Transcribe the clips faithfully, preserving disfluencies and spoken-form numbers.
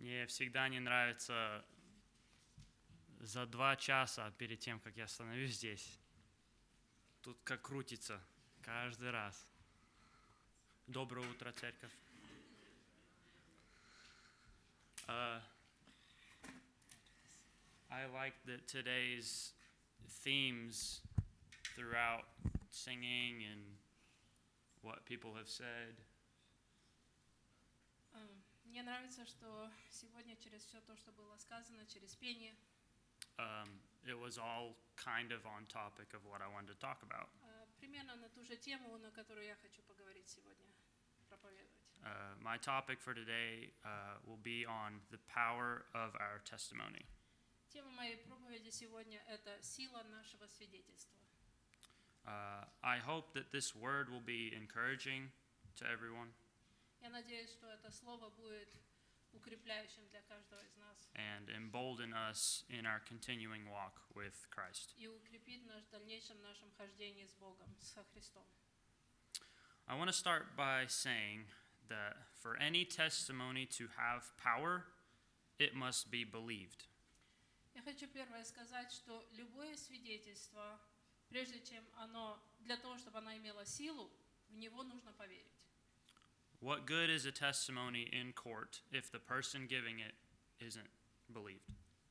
Мне всегда не нравится за два часа перед тем, как я становлюсь здесь. Тут как крутится каждый раз. Доброе утро, церковь. Uh, I like that today's themes throughout singing and what people have said. Мне нравится, что сегодня через все то, что было сказано, через пение, Um, it was all kind of on topic of what I wanted to talk about. примерно на ту же тему, на которую я хочу поговорить сегодня, проповедовать. Uh, my topic for today uh, will be on the power of our testimony. Тема моей проповеди сегодня – это сила нашего свидетельства. Uh, I hope that this word will be encouraging to everyone. Я надеюсь, что это слово будет укрепляющим для каждого из нас. And embolden us in our continuing walk with Christ. И укрепит нас в дальнейшем нашем хождении с Богом, со Христом. I want to start by saying that for any testimony to have power, it must be believed. Я хочу первое сказать, что любое свидетельство, прежде чем оно, для того, чтобы оно имело силу, в него нужно поверить. What good is a testimony in court if the person giving it isn't believed?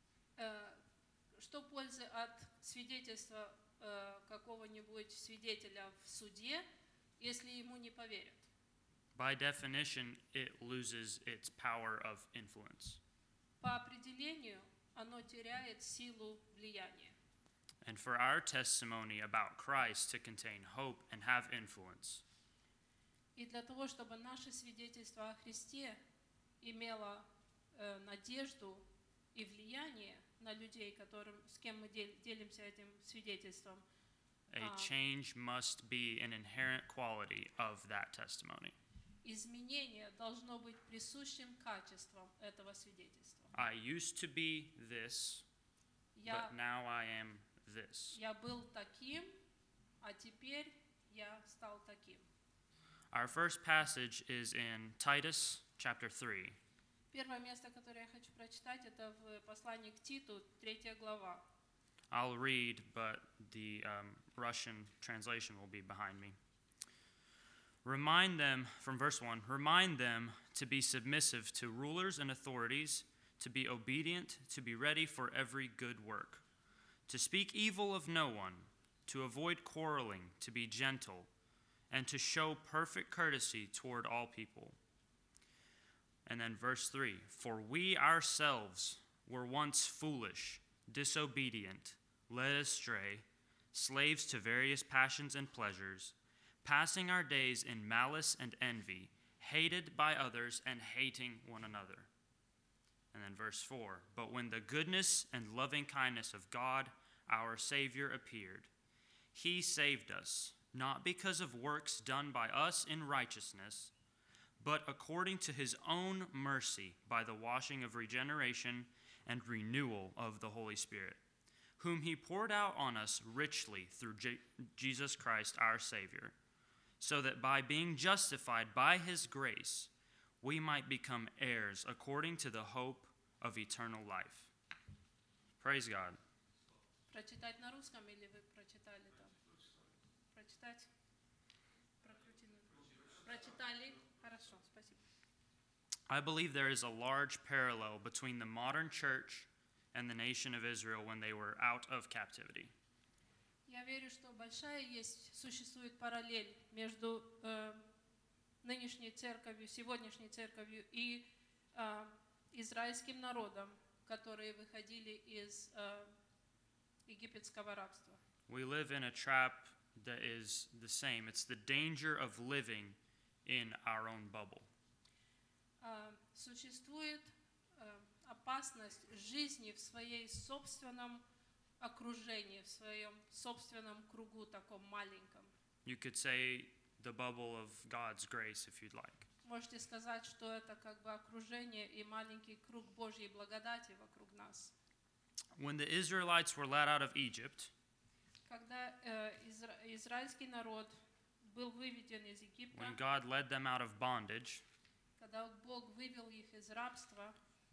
Что пользы от свидетельства какого-нибудь свидетеля в суде, если ему не поверят? By definition, it loses its power of influence. По определению, оно теряет силу влияния. And for our testimony about Christ to contain hope and have influence, И для того, чтобы наше свидетельство о Христе имело э, надежду и влияние на людей, которым, с кем мы дел, делимся этим свидетельством, a uh, change must be an inherent quality of that testimony. изменение должно быть присущим качеством этого свидетельства. I used to be this, Я, but now I am this. я был таким, а теперь я стал таким. Our first passage is in Titus chapter three. Первое место, которое я хочу прочитать, это в послании к Титу, третья глава. I'll read, but the um, Russian translation will be behind me. Remind them, from verse one, remind them to be submissive to rulers and authorities, to be obedient, to be ready for every good work, to speak evil of no one, to avoid quarreling, to be gentle, and to show perfect courtesy toward all people. And then verse three, for we ourselves were once foolish, disobedient, led astray, slaves to various passions and pleasures, passing our days in malice and envy, hated by others and hating one another. And then verse four, but when the goodness and loving kindness of God, our Savior, appeared, he saved us, not because of works done by us in righteousness, but according to his own mercy by the washing of regeneration and renewal of the Holy Spirit, whom he poured out on us richly through J- Jesus Christ our Savior, so that by being justified by his grace, we might become heirs according to the hope of eternal life. Praise God. Прочитать на русском или вы прочитали там? Прочитать? Прокрутили? Прочитали? Хорошо, спасибо. I believe there is a large parallel between the modern church and the nation of Israel when they were out of captivity. Я верю, что большая есть, существует параллель между э, нынешней церковью, сегодняшней церковью и э, израильским народом, которые выходили из э, египетского рабства. We live in a trap that is the same. It's the danger of living in our own bubble. Uh, существует uh, опасность жизни в своей собственном окружении, в своем собственном кругу таком маленьком. You could say the bubble of God's grace if you'd like. Можете сказать, что это как бы окружение и маленький круг Божьей благодати вокруг нас. When the Israelites were led out of Egypt, когда uh, изра- израильский народ был выведен из Египта, when God led them out of bondage, когда Бог вывел их из рабства,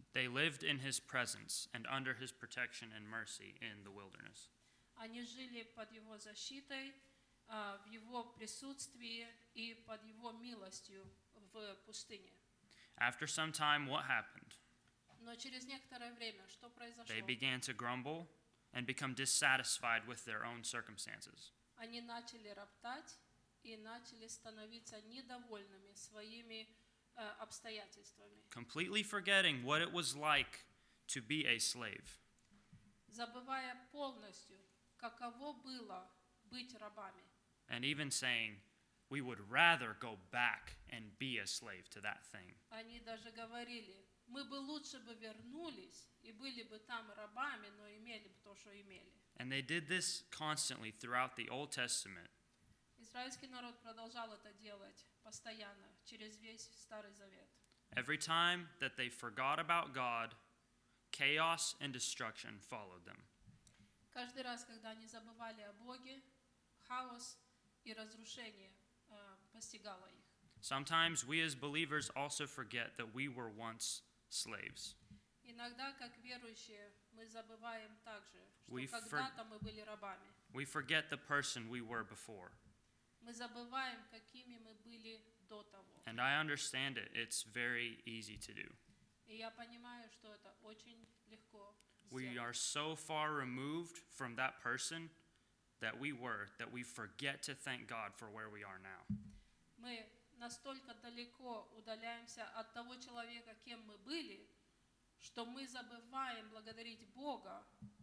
They lived in his presence and under his protection and mercy in the wilderness. Они жили под его защитой, а, в его присутствии и под его милостью в пустыне. After some time, what happened? Но через некоторое время что произошло? They began to grumble and become dissatisfied with their own circumstances. Они начали роптать и начали становиться недовольными своими э, обстоятельствами, Completely forgetting what it was like to be a slave. забывая полностью, каково было быть рабами. And even saying, we would rather go back and be a slave to that thing. Они даже говорили, мы бы лучше бы вернулись и были бы там рабами, но имели бы то, что имели. And they did this constantly throughout the Old Testament. Израильский народ продолжал это делать постоянно, через весь Старый Завет. Every time that they forgot about God, chaos and destruction followed them. Каждый раз, когда они забывали о Боге, хаос и разрушение э, постигало их. Sometimes we as believers also forget that we were once slaves. Иногда, как верующие, мы забываем также, что We for- когда-то мы были рабами. We forget the person we were before. Мы забываем, какими мы были до того. And I understand it. It's very easy to do. И я понимаю, что это очень легко We сделать. are so far removed from that person that we were that we forget to thank God for where we are now. Мы настолько далеко удаляемся от того человека, кем мы были, что мы забываем благодарить Бога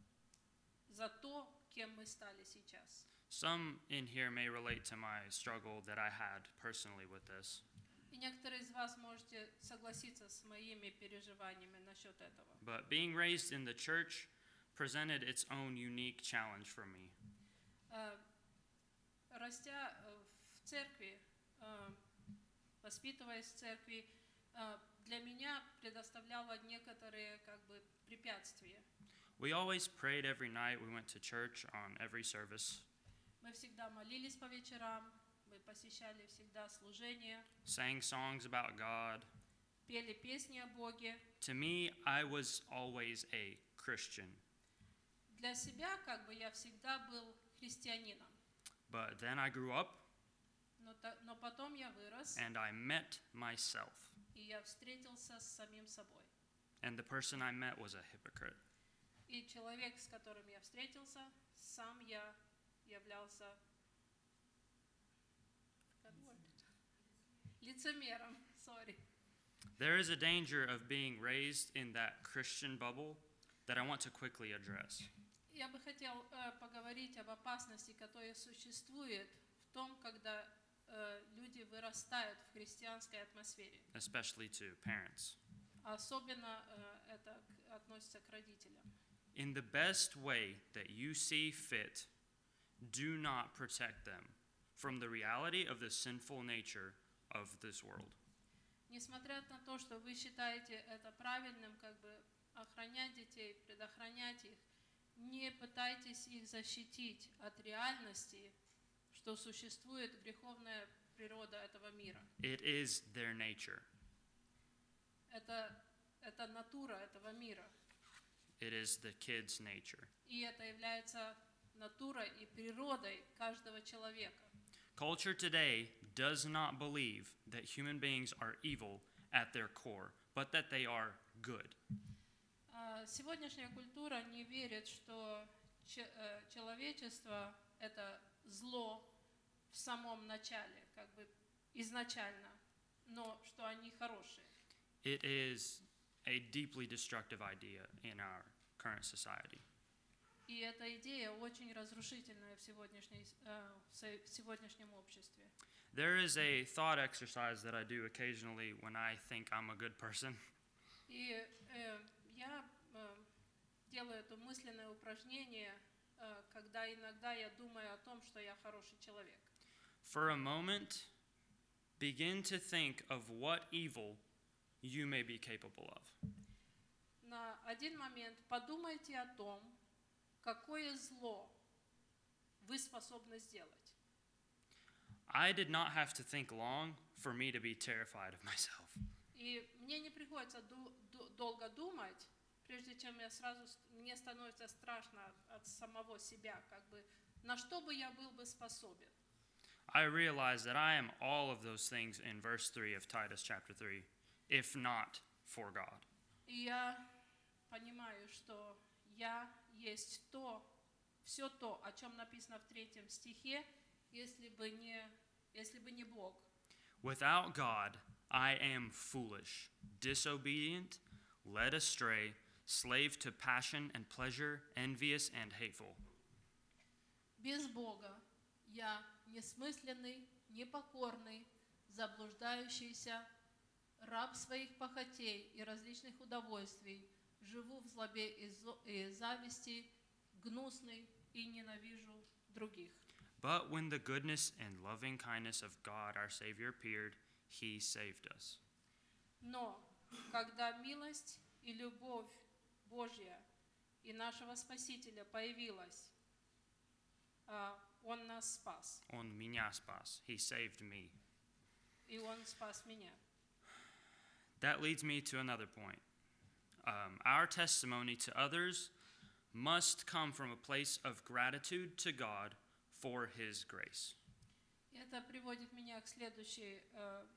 за то, кем мы стали сейчас. Some in here may relate to my struggle that I had personally with this. И некоторые из вас можете согласиться с моими переживаниями насчет этого. But being raised in the church presented its own unique challenge for me. Э, Растя э, в церкви, э, воспитываясь в церкви, э, для меня предоставляло некоторые как бы препятствия. We always prayed every night. We went to church on every service, Мы всегда молились по вечерам, мы посещали всегда служения, sang songs about God. пели песни о Боге. To me, I was always a Christian. Для себя как бы я всегда был христианином. But then I grew up Но, та- но потом я вырос, and I met myself. и я встретился с самим собой. And the person I met was a hypocrite. И человек, с которым я встретился, сам я являлся как word? лицемером. Sorry. There is a danger of being raised in that Christian bubble that I want to quickly address. Я бы хотел э, поговорить об опасности, которая существует в том, когда э, люди вырастают в христианской атмосфере. Especially to parents. Особенно э, это к- относится к родителям. In the best way that you see fit, do not protect them from the reality of the sinful nature of this world. Несмотря на то, что вы считаете это правильным, как бы охранять детей, предохранять их, не пытайтесь их защитить от реальности, что существует греховная природа этого мира. It is their nature. Это, это натура этого мира. It is the kid's nature. И это является натурой и природой каждого человека. Culture today does not believe that human beings are evil at their core, but that they are good. А сегодняшняя культура не верит, что че- э, человечество – это зло в самом начале, как бы изначально, но что они хорошие. It is a deeply destructive idea in our current society. И эта идея очень разрушительная в, сегодняшней, э, в се- в сегодняшнем обществе. There is a thought exercise that I do occasionally when I think I'm a good person. И э, я э, делаю это мысленное упражнение, э, когда иногда я думаю о том, что я хороший человек. For a moment, begin to think of what evil you may be capable of. На один момент подумайте о том, какое зло вы способны сделать. I did not have to think long for me to be terrified of myself. И мне не приходится ду- ду- долго думать, прежде чем я сразу, с- мне становится страшно от, от самого себя, как бы, на что бы я был бы способен. I realize that I am all of those things in verse three of Titus chapter three, if not for God. И я понимаю, что я есть то, все то, о чем написано в третьем стихе, если бы не, если бы не Бог. Without God, I am foolish, disobedient, led astray, slave to passion and pleasure, envious and hateful. Без Бога я несмысленный, непокорный, заблуждающийся, раб своих похотей и различных удовольствий, живу в злобе и зо- и зависти, гнусный и ненавижу других. But when the goodness and loving kindness of God our Savior appeared, He saved us. Но когда милость и любовь Божья и нашего Спасителя появилась, а, Он нас спас, On меня спас. He saved me. и Он спас меня. That leads me to another point. Um, our testimony to others must come from a place of gratitude to God for His grace. И это приводит меня к, следующей, э,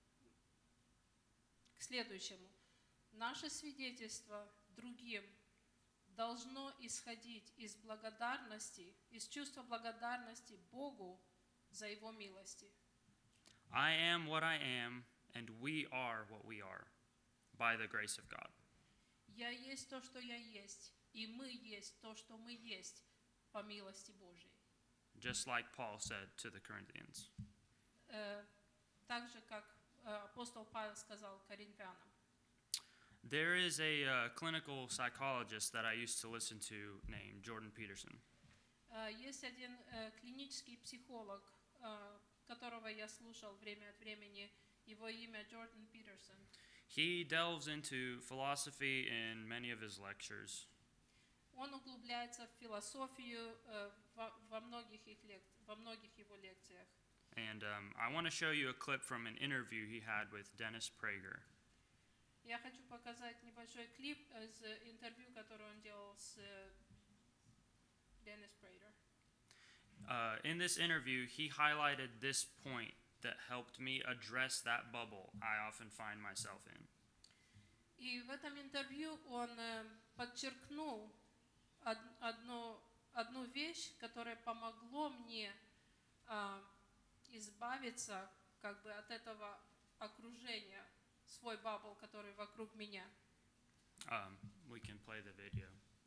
к следующему. Наше свидетельство другим должно исходить из благодарности, из чувства благодарности Богу за Его милости. I am what I am, and we are what we are by the grace of God. Я есть то, что я есть, и мы есть то, что мы есть по милости Божьей. Just like Paul said to the Corinthians. Э, Так же, как э, апостол Павел сказал Коринфянам. There is a uh, clinical psychologist that I used to listen to named Jordan Peterson. Э, Есть один э, клинический психолог, э, которого я слушал время от времени, его имя Джордан Питерсон. He delves into philosophy in many of his lectures. Он углубляется в философию э, во, во многих их лек- во многих его лекциях. And um, I want to show you a clip from an interview he had with Dennis Prager. Я хочу показать небольшой клип из э, интервью, которое он делал с э, Деннис Прейдер. Uh, in this interview, he highlighted this point that helped me address that bubble I often find myself in. И в этом интервью он э, подчеркнул од- одну, одну вещь, которая помогло мне а, избавиться как бы от этого окружения, свой бабл, который вокруг меня. Um, we can play the video.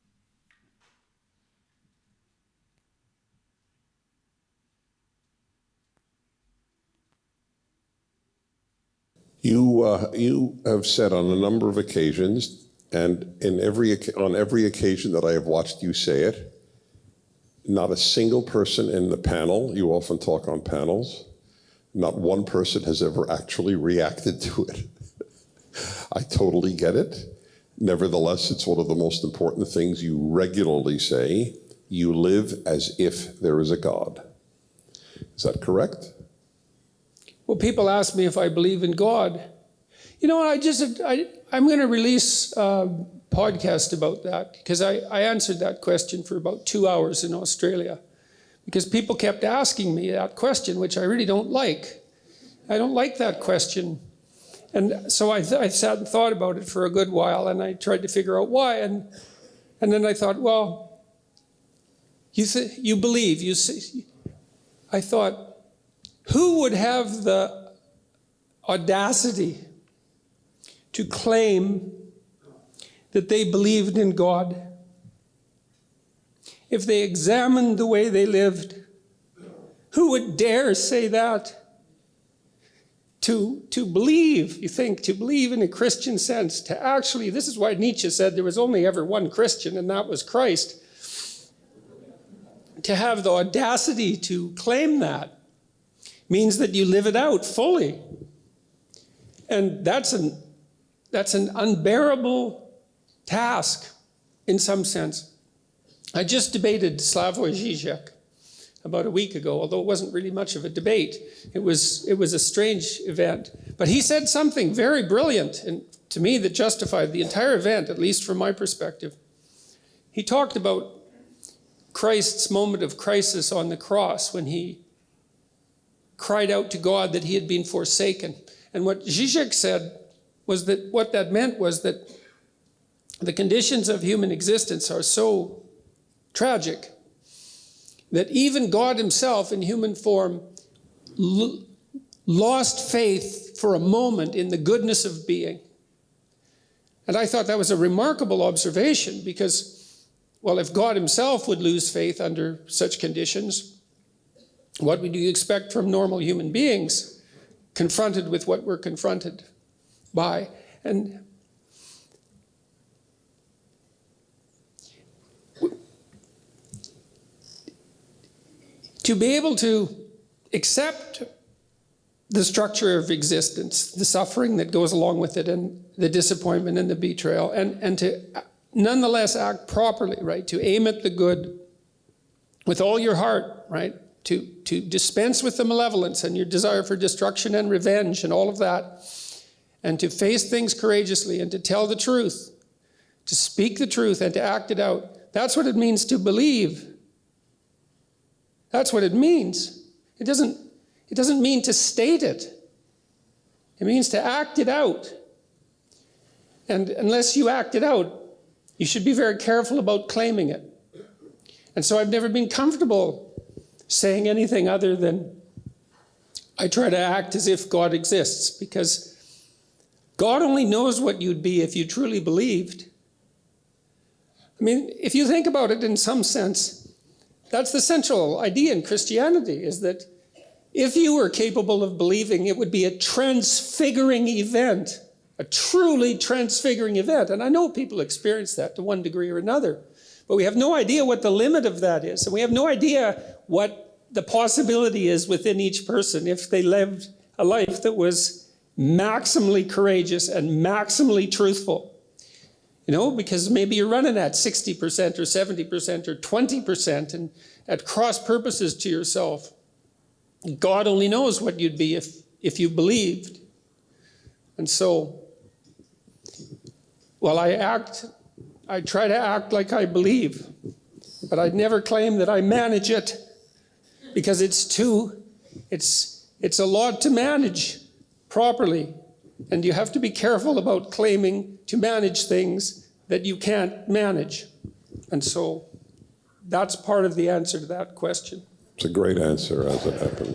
You, uh, you have said on a number of occasions, and in every, oc- on every occasion that I have watched you say it, not a single person in the panel, you often talk on panels, not one person has ever actually reacted to it. I totally get it. Nevertheless, it's one of the most important things you regularly say. You live as if there is a God. Is that correct? Well, people ask me if I believe in God. You know, I just, I, I'm going to release a podcast about that because I, I answered that question for about two hours in Australia because people kept asking me that question, which I really don't like. I don't like that question. And so I, th- I sat and thought about it for a good while and I tried to figure out why. And, and then I thought, well, you, th- you believe, you see. I thought, who would have the audacity to claim that they believed in God if they examined the way they lived? Who would dare say that? To, to believe, you think, to believe in a Christian sense, to actually, this is why Nietzsche said there was only ever one Christian, and that was Christ. To have the audacity to claim that means that you live it out fully. And that's an, that's an unbearable task in some sense. I just debated Slavoj Žižek, about a week ago, although it wasn't really much of a debate. It was, it was a strange event. But he said something very brilliant, and to me that justified the entire event, at least from my perspective. He talked about Christ's moment of crisis on the cross when he cried out to God that he had been forsaken. And what Zizek said was that what that meant was that the conditions of human existence are so tragic that even God himself in human form l- lost faith for a moment in the goodness of being. And I thought that was a remarkable observation because, well, if God himself would lose faith under such conditions, what would you expect from normal human beings confronted with what we're confronted by? And to be able to accept the structure of existence, the suffering that goes along with it, and the disappointment and the betrayal, and, and to nonetheless act properly, right? To aim at the good with all your heart, right? To, to dispense with the malevolence and your desire for destruction and revenge and all of that, and to face things courageously and to tell the truth, to speak the truth and to act it out. That's what it means to believe. That's what it means. It doesn't, it doesn't mean to state it. It means to act it out. And unless you act it out, you should be very careful about claiming it. And so I've never been comfortable saying anything other than I try to act as if God exists, because God only knows what you'd be if you truly believed. I mean, if you think about it in some sense, that's the central idea in Christianity, is that if you were capable of believing, it would be a transfiguring event, a truly transfiguring event. And I know people experience that to one degree or another, but we have no idea what the limit of that is. And we have no idea what the possibility is within each person if they lived a life that was maximally courageous and maximally truthful. You know, because maybe you're running at sixty percent or seventy percent or twenty percent and at cross purposes to yourself. God only knows what you'd be if, if you believed. And so, well, I act, I try to act like I believe, but I'd never claim that I manage it, because it's too, it's, it's a lot to manage properly. And you have to be careful about claiming to manage things that you can't manage. And so that's part of the answer to that question. It's a great answer, as it happens.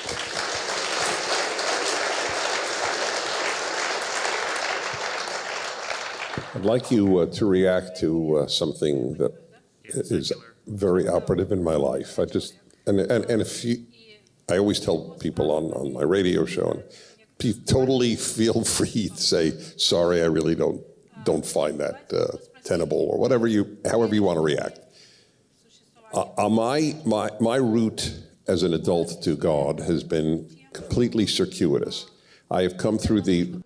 I'd like you uh, to react to uh, something that is very operative in my life. I just, and, and, and if you, I always tell people on, on my radio show, and you totally feel free to say, sorry, I really don't don't find that uh, tenable, or whatever you, however you want to react. Uh, uh, my, my, my route as an adult to God has been completely circuitous. I have come through the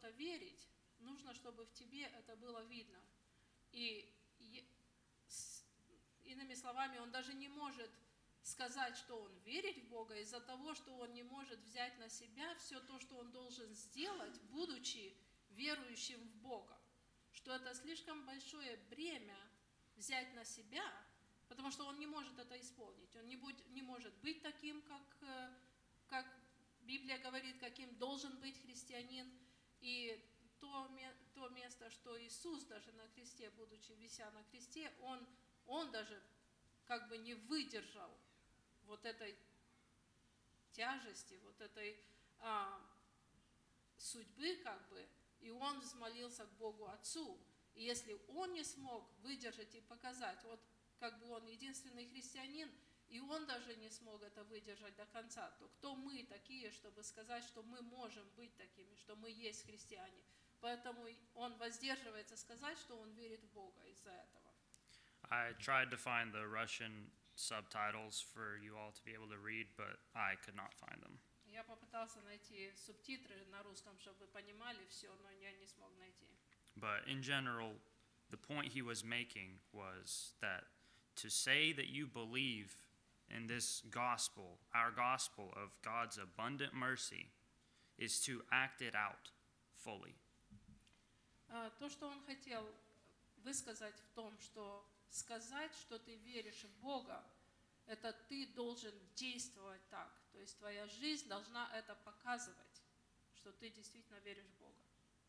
сказать, что он верит в Бога из-за того, что он не может взять на себя все то, что он должен сделать, будучи верующим в Бога. Что это слишком большое бремя взять на себя, потому что он не может это исполнить. Он не, будь, не может быть таким, как, как Библия говорит, каким должен быть христианин. И то, то место, что Иисус даже на кресте, будучи вися на кресте, он, он даже как бы не выдержал вот этой тяжести, вот этой а, судьбы, как бы, и он взмолился к Богу Отцу. И если он не смог выдержать и показать, вот как бы он единственный христианин, и он даже не смог это выдержать до конца, то кто мы такие, чтобы сказать, что мы можем быть такими, что мы есть христиане? Поэтому он воздерживается сказать, что он верит в Бога из-за этого. I tried to find the Russian subtitles for you all to be able to read, but I could not find them. Я попытался найти субтитры на русском, чтобы вы понимали все, но я не смог найти. But in general, the point he was making was that to say that you believe in this gospel, our gospel of God's abundant mercy, is to act it out fully. А, То, что он хотел высказать в том, что сказать, что ты веришь в Бога, это ты должен действовать так. То есть твоя жизнь должна это показывать, что ты действительно веришь в Бога.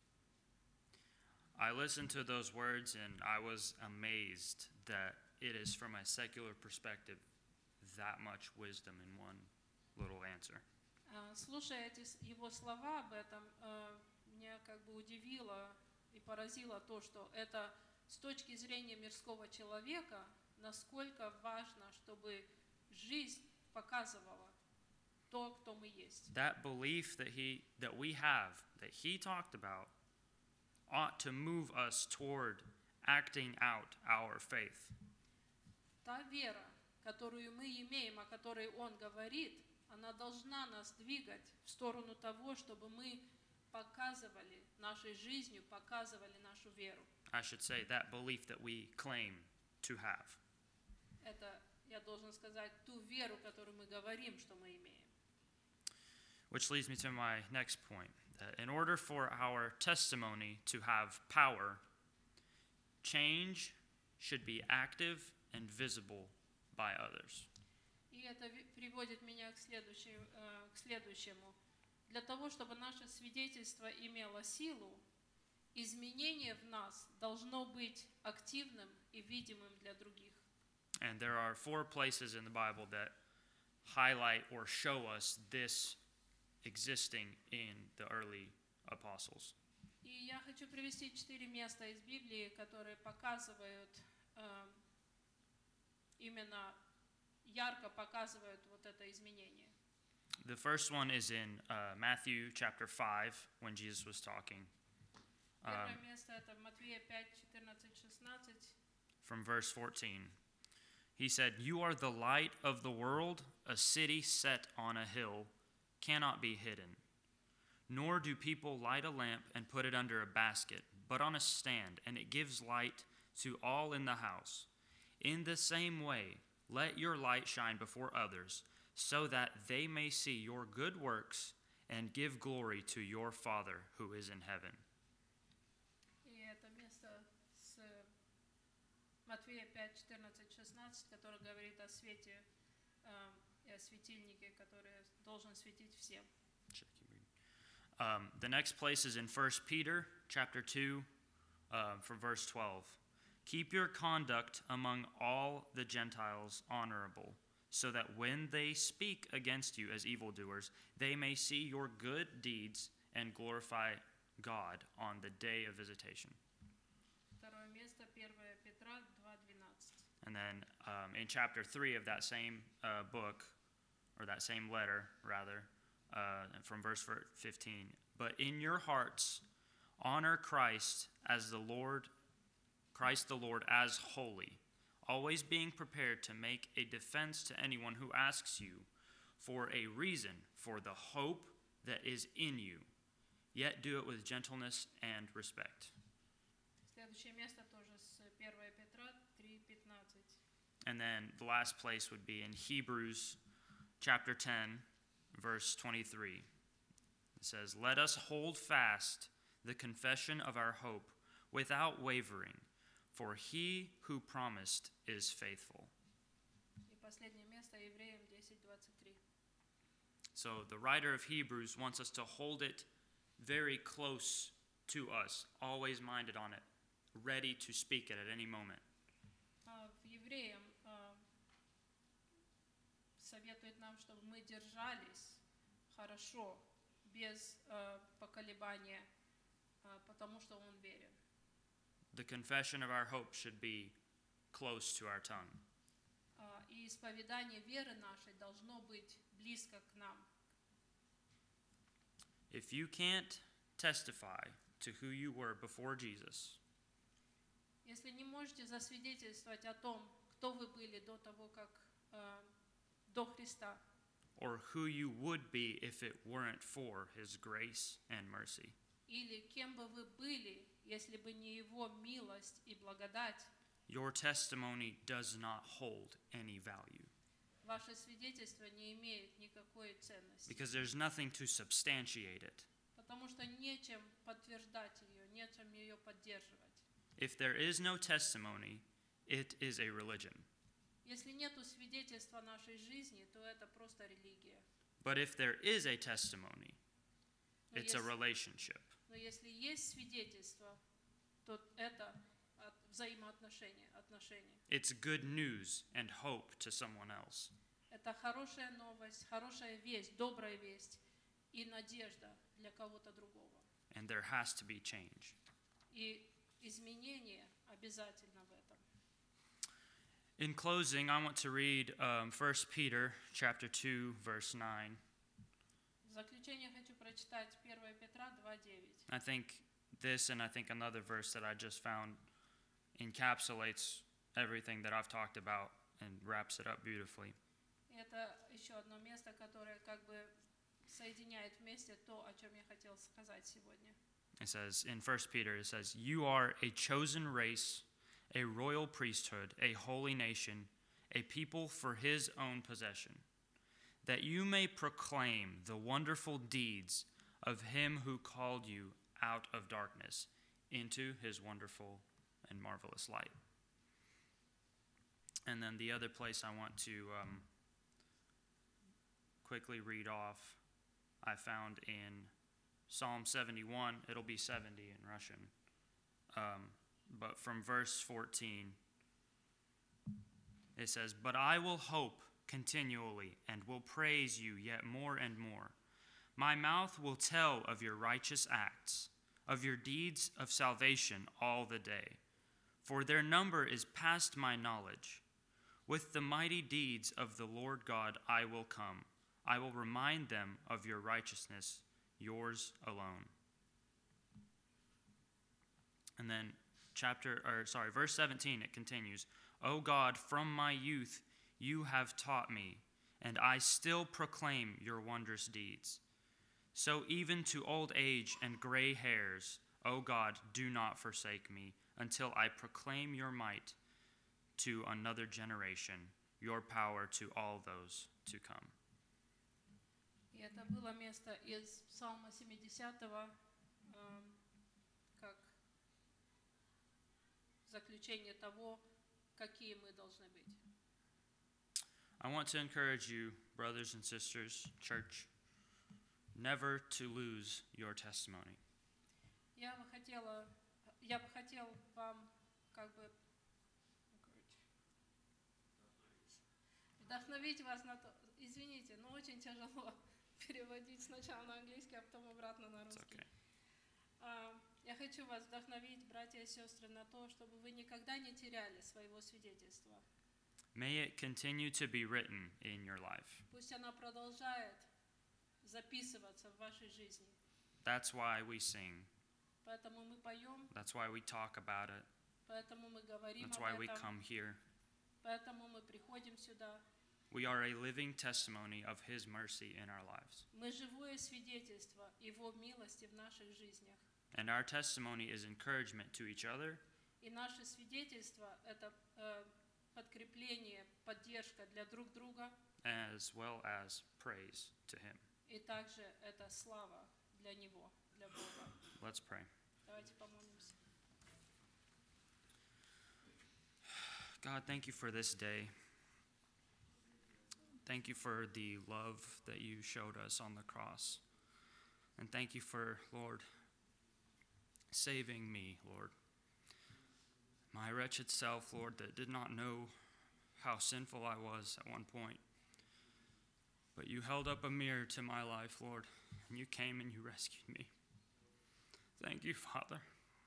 I listened to those words and I was amazed that it is from a secular perspective that much wisdom in one little answer. А, Слушая эти с- его слова об этом, э, меня как бы удивило и поразило то, что это с точки зрения мирского человека, насколько важно, чтобы жизнь показывала то, кто мы есть. That belief that he that we have, that he talked about, ought to move us toward acting out our faith. Та вера, которую мы имеем, о которой он говорит, она должна нас двигать в сторону того, чтобы мы показывали нашей жизнью, показывали нашу веру. I should say that belief that we claim to have. Это, я должен сказать, ту веру, которую мы говорим, что мы имеем. Which leads me to my next point. That in order for our testimony to have power, change should be active and visible by others. И это ви- приводит меня к, следующей- э, к следующему. Для того, чтобы наше свидетельство имело силу, изменение в нас должно быть активным и видимым для других. And there are four places in the Bible that highlight or show us this existing in the early apostles. И я хочу привести четыре места из Библии, которые показывают, э, именно ярко показывают вот это изменение. The first one is in uh, Matthew chapter five when Jesus was talking. Первое место это Матвея пять, четырнадцать, шестнадцать. From verse fourteen. He said, "You are the light of the world. A city set on a hill cannot be hidden. Nor do people light a lamp and put it under a basket, but on a stand, and it gives light to all in the house. In the same way, let your light shine before others, so that they may see your good works and give glory to your Father who is in heaven." И это место с Матвея пять, четырнадцать, шестнадцать, который говорит о свете э, и о светильнике, который должен светить всем. Um, the next place is in First Peter chapter two, uh, from verse twelve. "Keep your conduct among all the Gentiles honorable, so that when they speak against you as evildoers, they may see your good deeds and glorify God on the day of visitation." Второе место, первое Петра два, двенадцать. And then um, in chapter three of that same uh, book, or that same letter, rather, uh, from verse fifteen, "But in your hearts honor Christ as the Lord, Christ the Lord as holy, always being prepared to make a defense to anyone who asks you for a reason for the hope that is in you, yet do it with gentleness and respect." Следующее место тоже с первое Петра три, пятнадцать. And then the last place would be in Hebrews chapter ten, verse twenty-three. It says, "Let us hold fast the confession of our hope without wavering, for he who promised is faithful." И последнее место, Евреям десять, двадцать три. So the writer of Hebrews wants us to hold it very close to us, always minded on it, ready to speak it at any moment. А В Евреям а, советует нам, чтобы мы держались хорошо, без а, поколебания, а, потому что он верен. The confession of our hope should be close to our tongue. А, И исповедание веры нашей должно быть близко к нам. If you can't testify to who you were before Jesus, Если не можете засвидетельствовать о том, кто вы были до того, как а, до Христа, or who you would be if it weren't for his grace and mercy, или кем бы вы были, если бы не Его милость и благодать, your testimony does not hold any value. ваше свидетельство не имеет никакой ценности. because there's nothing to substantiate it. Потому что нечем подтверждать ее, нечем ее поддерживать. If there is no testimony, it is a religion. Если нету свидетельства нашей жизни, то это просто религия. But if there is a testimony, Но it's a если, relationship. но если есть свидетельство, то это от- взаимоотношения, отношения. It's good news and hope to someone else. Это хорошая новость, хорошая весть, добрая весть и надежда для кого-то другого. And there has to be change. И изменение обязательно в этом. In closing, I want to read um, First Peter chapter two, verse nine. В заключение хочу прочитать первое Петра два девять. I think this and I think another verse that I just found encapsulates everything that I've talked about and wraps it up beautifully. И это еще одно место, которое как бы соединяет вместе то, о чем я хотел сказать сегодня. It says in First Peter, it says, "You are a chosen race, a royal priesthood, a holy nation, a people for his own possession, that you may proclaim the wonderful deeds of him who called you out of darkness into his wonderful and marvelous light." And then the other place I want to um, quickly read off, I found in Psalm seventy-one. It'll be seventy in Russian. Um, but from verse fourteen, it says, "But I will hope continually and will praise you yet more and more. My mouth will tell of your righteous acts, of your deeds of salvation all the day. For their number is past my knowledge. With the mighty deeds of the Lord God I will come. I will remind them of your righteousness, yours alone." And then chapter or sorry, verse seventeen, it continues, "O God, from my youth you have taught me, and I still proclaim your wondrous deeds. So even to old age and gray hairs, O God, do not forsake me, until I proclaim your might to another generation, your power to all those to come." И это было место из Псалма семидесятого, эм, как заключение того, какие мы должны быть. I want to encourage you, brothers and sisters, church, never to lose your testimony. Я бы хотела, я бы хотел вам как бы вдохновить вас на то. Извините, но очень тяжело переводить сначала на английский, а потом обратно на It's русский. okay. А, Я хочу вас вдохновить, братья и сестры, на то, чтобы вы никогда не теряли своего свидетельства. May it continue to be written in your life. Пусть она продолжает записываться в вашей жизни. That's why we sing. Поэтому мы поем, That's why we talk about it. поэтому мы говорим That's об why we этом, come here. поэтому мы приходим сюда. We are a living testimony of his mercy in our lives. Мы живое свидетельство Его милости в наших жизнях. And our testimony is encouragement to each other И наше свидетельство – это э, подкрепление, поддержка для друг друга, as well as praise to him. и также это слава для Него, для Бога. Let's pray. Давайте помолимся. God, thank you for this day. Thank you for the love that you showed us on the cross. And thank you for, Lord, saving me, Lord. My wretched self, Lord, that did not know how sinful I was at one point. But you held up a mirror to my life, Lord, and you came and you rescued me. Thank you, Father.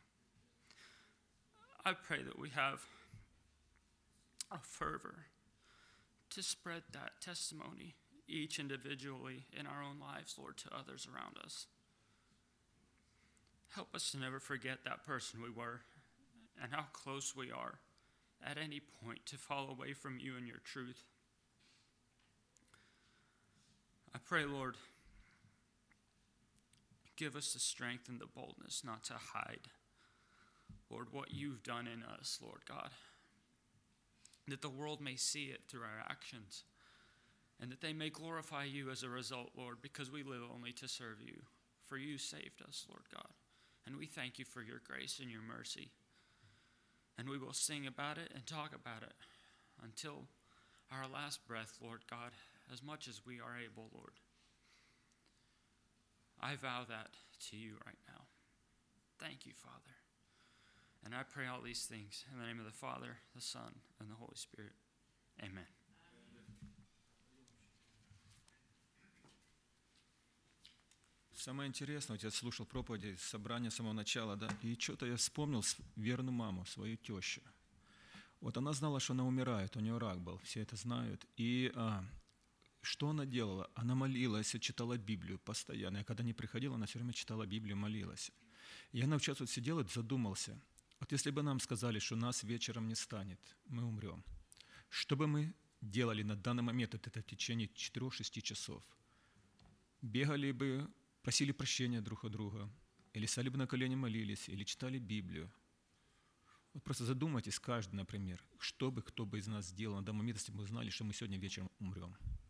I pray that we have a fervor to spread that testimony each individually in our own lives, Lord, to others around us. Help us to never forget that person we were and how close we are at any point to fall away from you and your truth. I pray, Lord, give us the strength and the boldness not to hide, Lord, what you've done in us, Lord God, that the world may see it through our actions, and that they may glorify you as a result, Lord, because we live only to serve you. For you saved us, Lord God. And we thank you for your grace and your mercy. And we will sing about it and talk about it until our last breath, Lord God, as much as we are able, Lord. I vow that to you right now. Thank you, Father. And I pray all these things in the name of the Father, the Son, and the Holy Spirit. Amen. Самое интересное, вот я слушал проповеди, собрание с самого начала, да, и что-то я вспомнил верную маму, свою тещу. Вот она знала, что она умирает, у нее рак был, все это знают. И а, что она делала? Она молилась, читала Библию постоянно. Я когда не приходила, она все время читала Библию, молилась. И я сейчас вот сидел и задумался. Вот если бы нам сказали, что нас вечером не станет, мы умрем. Что бы мы делали на данный момент, это в течение четырех-шести часов? Бегали бы, просили прощения друг у друга, или стали бы на колени молились, или читали Библию. Вот просто задумайтесь каждый, например, что бы кто бы из нас сделал на данный момент, если бы мы знали, что мы сегодня вечером умрем.